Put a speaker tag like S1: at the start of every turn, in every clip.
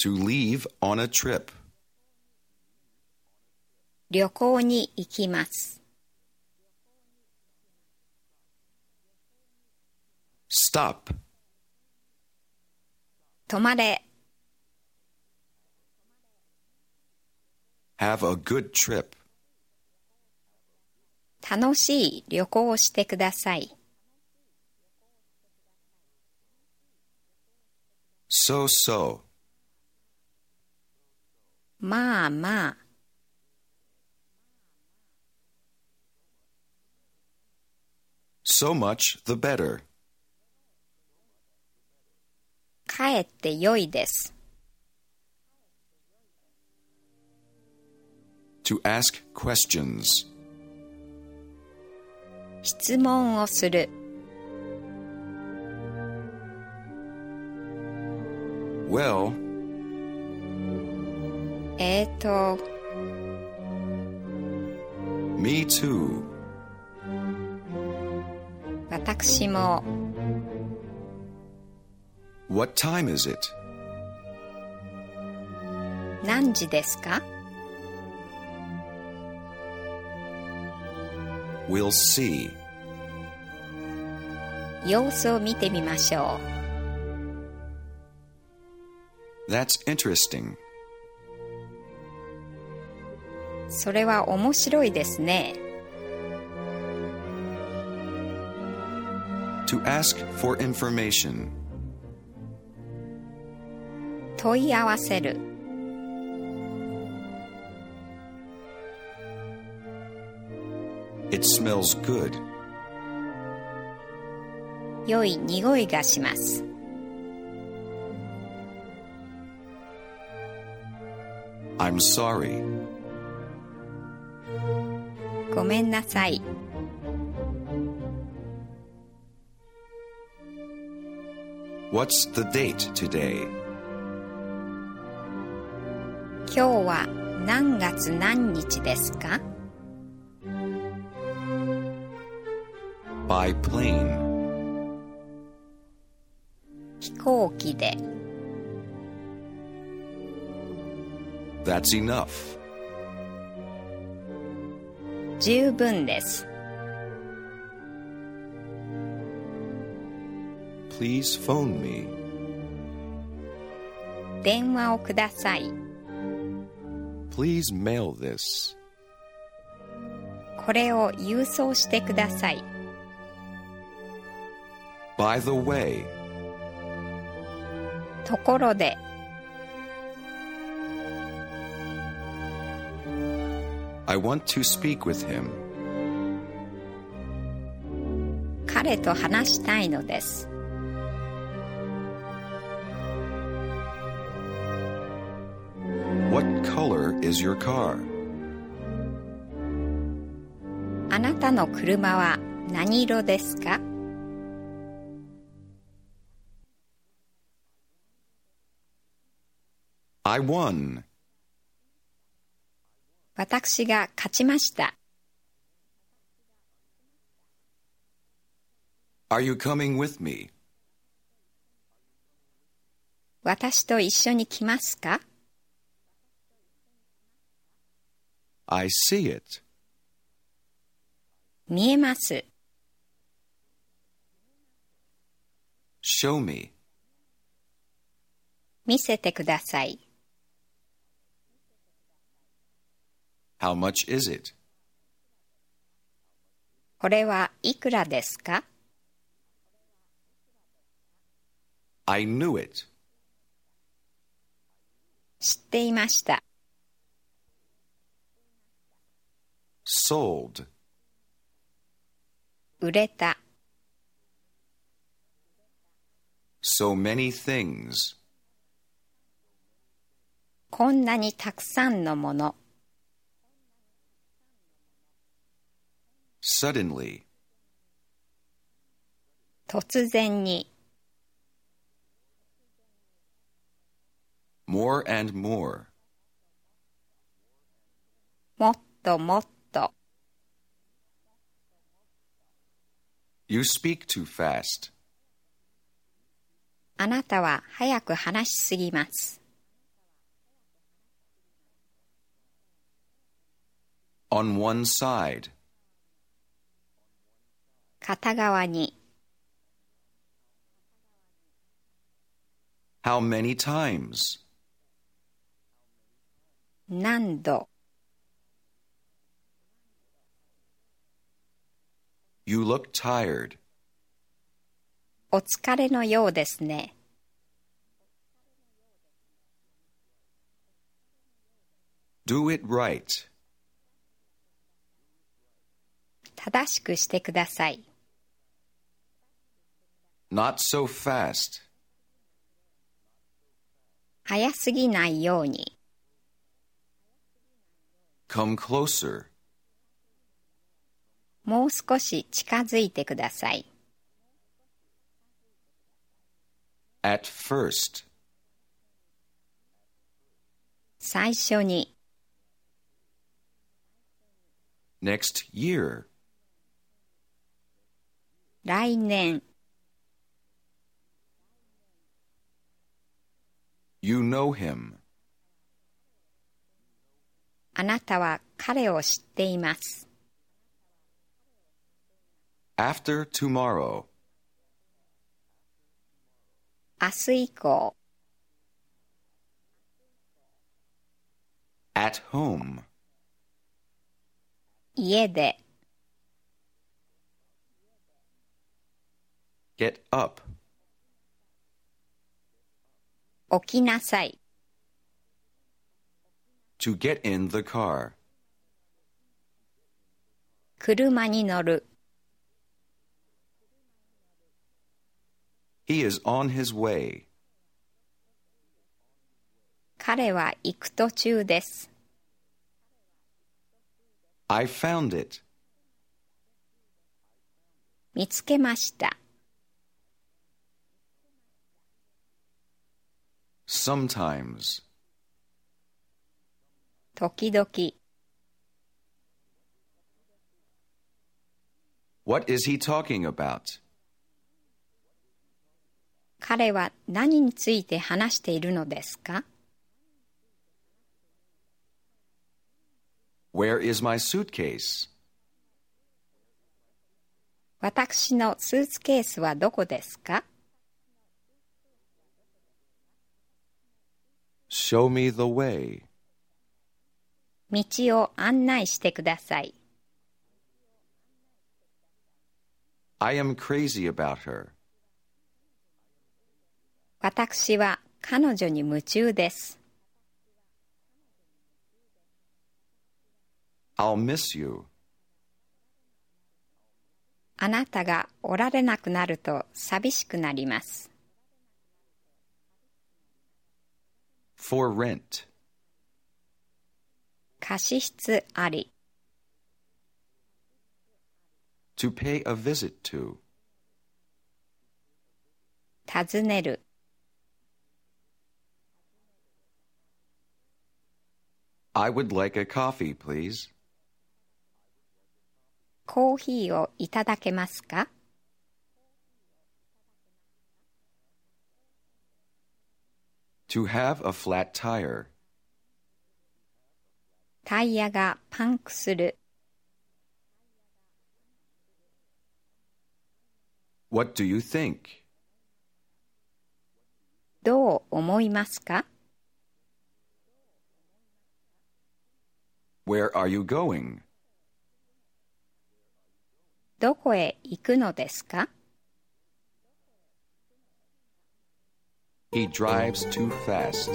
S1: To leave on a trip.
S2: 旅行に行きます。
S1: Stop.
S2: 止まれ。
S1: Have a good trip.
S2: 楽しい旅行をしてください。
S1: So.
S2: まあまあ。
S1: So much the better.
S2: かえって良いです。
S1: To ask questions.
S2: 質問をする。
S1: Well. Me too.
S2: 私も。
S1: What time is it?
S2: 何時ですか？
S1: We'll see.
S2: 様子を見てみましょ
S1: う。That's interesting.
S2: それは面白いですね。
S1: To ask for information.
S2: 問い合わせる。
S1: It smells good.
S2: 良い匂いがします。
S1: I'm sorry.
S2: ごめんなさい。
S1: What's the date today?
S2: 今日は何月何日ですか？
S1: By plane.
S2: 飛行機で。
S1: That's enough.
S2: 十分です。
S1: Please phone me.
S2: 電話をください。
S1: Please mail this.
S2: これを郵送してください。
S1: By the way.
S2: ところで。
S1: I want to speak with him.
S2: 彼と話したいのです。
S1: What color is your car?
S2: あなたの車は何色ですか？
S1: I won.
S2: 私が勝ちました。
S1: Are you coming with me?
S2: 私と一緒に来ますか？
S1: I see it.
S2: 見えます。
S1: Show me.
S2: 見せてください。
S1: How much is it?
S2: これはいくらですか？
S1: I knew it.
S2: 知っていました。
S1: Sold.
S2: 売れた。
S1: So many things.
S2: こんなにたくさんのもの。
S1: Suddenly.
S2: 突然に。
S1: More and more.
S2: もっともっと。
S1: You speak too fast.
S2: あなたは早く話しすぎます。
S1: On one side.
S2: 片側に。
S1: How many times?
S2: 何度。
S1: You look tired.
S2: お疲れのようですね。
S1: Do it right.
S2: 正しくしてください。
S1: Not so fast.
S2: 早すぎないように。
S1: Come closer.
S2: もう少し近づいてください。
S1: At first.
S2: 最初に。
S1: Next year.
S2: 来年。
S1: You know him.
S2: あなたは彼を知っています。
S1: After tomorrow.
S2: 明日以降。
S1: At home.
S2: 家で。
S1: Get up.
S2: 起きなさい。
S1: To get in the car.
S2: 車に乗る。
S1: He is on his way.
S2: 彼は行く途中です。
S1: I found it.
S2: 見つけました。
S1: Sometimes.
S2: 時々。
S1: What is he talking about?
S2: 彼は何について話しているのですか？
S1: Where is my suitcase?
S2: 私のスーツケースはどこですか？
S1: Show me the way.
S2: 道を案内してください。
S1: I am crazy about her.
S2: 私は彼女に夢中です。
S1: I'll miss you.
S2: あなたがおられなくなると寂しくなります。
S1: For rent.
S2: 貸し室あり。
S1: To pay a visit to.
S2: 訪ねる。
S1: I would like a coffee, please.
S2: コーヒーをいただけますか？
S1: To have a flat tire.
S2: タイヤがパンクする。
S1: What do you think?
S2: どう思いますか？
S1: Where are you going?
S2: どこへ行くのですか？
S1: He drives too fast.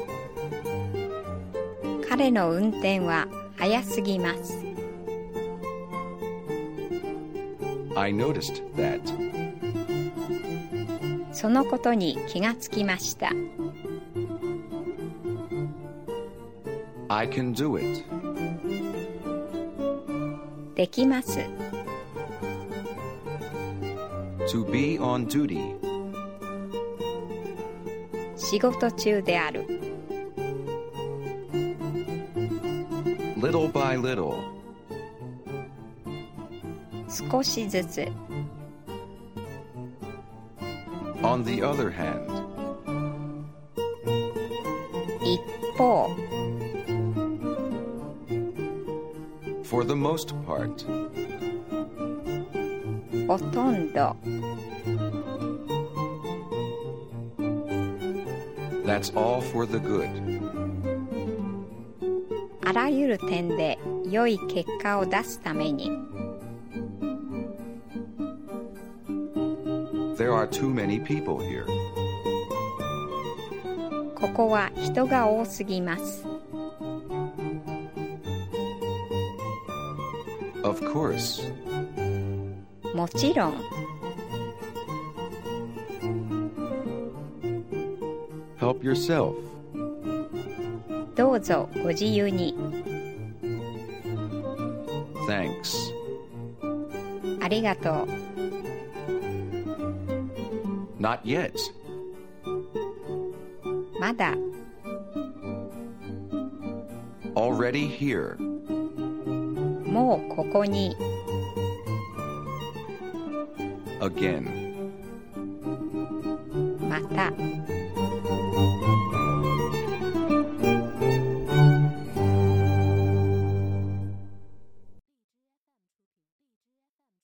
S2: 彼の運転は速すぎます。
S1: I noticed that.
S2: そのことに気がつきました。
S1: I can do it.
S2: できます。
S1: To be on duty.
S2: 仕事中である。
S1: Little by little.
S2: 少しずつ。
S1: On the other hand.
S2: 一方。
S1: For the most part.
S2: ほとんど
S1: That's all for the good.
S2: あらゆる点で良い結果を出すために
S1: There are too many people here.
S2: ここは人が多すぎます
S1: Of course.
S2: もちろん
S1: Help yourself.
S2: どうぞご自由に
S1: Thanks.
S2: ありがとう
S1: Not yet.
S2: まだ
S1: Already here.
S2: もうここに
S1: Again.
S2: また